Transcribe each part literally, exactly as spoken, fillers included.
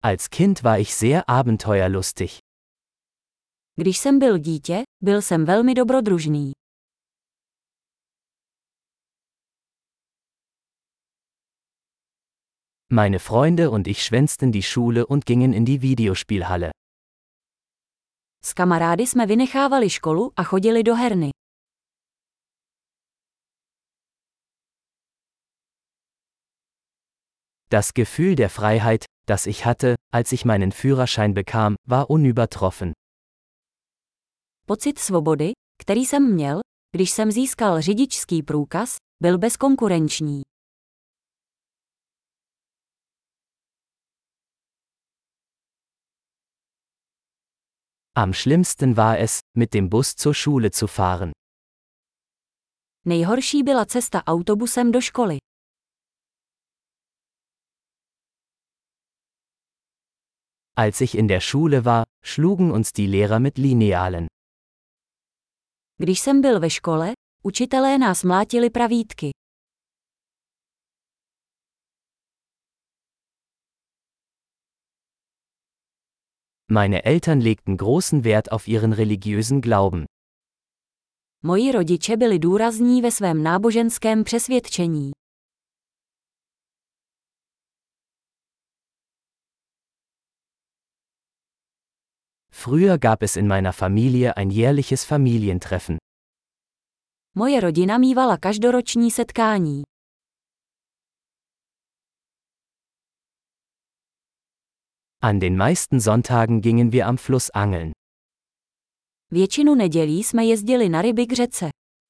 Als Kind war ich sehr abenteuerlustig. Když jsem byl dítě, byl jsem velmi dobrodružný. Meine Freunde und ich schwänzten die Schule und gingen in die Videospielhalle. S kamarády jsme vynechávali školu a chodili do herny. Das Gefühl der Freiheit, das ich hatte, als ich meinen Führerschein bekam, war unübertroffen. Pocit svobody, který jsem měl, když jsem získal řidičský průkaz, byl bezkonkurenční. Am schlimmsten war es, mit dem Bus zur Schule zu fahren. Nejhorší byla cesta autobusem do školy. Als ich in der Schule war, schlugen uns die Lehrer mit Linealen. Když jsem byl ve škole, učitelé nás mlátili pravítky. Meine Eltern legten großen Wert auf ihren religiösen Glauben. Moji rodiče byli důrazní ve svém náboženském přesvědčení. Früher gab es in meiner Familie ein jährliches Familientreffen. Moje rodina mívala každoroční setkání. An den meisten Sonntagen gingen wir am Fluss angeln. Většinu nedělí jsme jezdili na ryby k řece.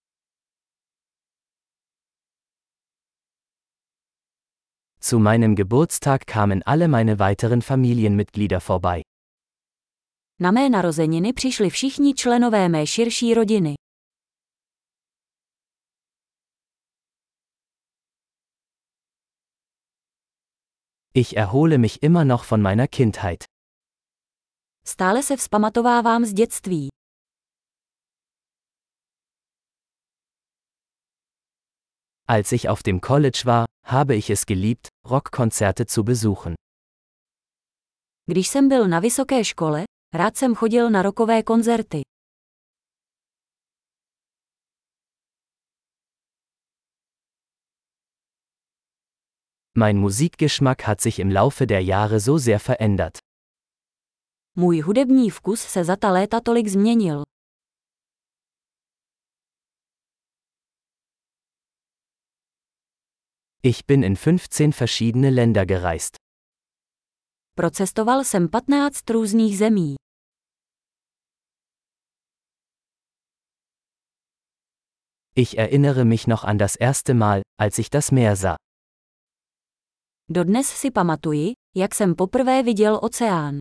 Zu meinem Geburtstag kamen alle meine weiteren Familienmitglieder vorbei. Na mé narozeniny přišli všichni členové mé širší rodiny. Ich erhole mich immer noch von meiner Kindheit. Stále se vzpamatovávám z dětství. Als ich auf dem College war, habe ich es geliebt, Rockkonzerte zu besuchen. Když jsem byl na vysoké škole, rád jsem chodil na rockové koncerty. Mein Musikgeschmack hat sich im Laufe der Jahre so sehr verändert. Můj hudební vkus se za ta léta tolik změnil. Ich bin in fünfzehn verschiedene Länder gereist. Procestoval jsem patnáct různých zemí. Ich erinnere mich noch an das erste Mal, als ich das Meer sah. Dodnes si pamatuji, jak jsem poprvé viděl oceán.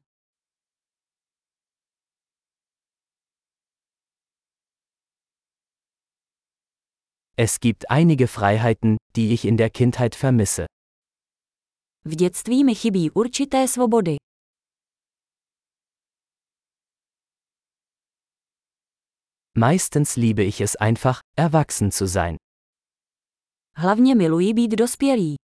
Es gibt einige Freiheiten, die ich in der Kindheit vermisse. V dětství mi chybí určité svobody. Meistens liebe ich es einfach, erwachsen zu sein. Hlavně miluji být dospělý.